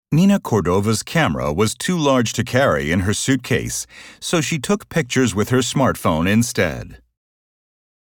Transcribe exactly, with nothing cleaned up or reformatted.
Nina Cordova's camera was too large to carry in her suitcase, so she took pictures with her smartphone instead.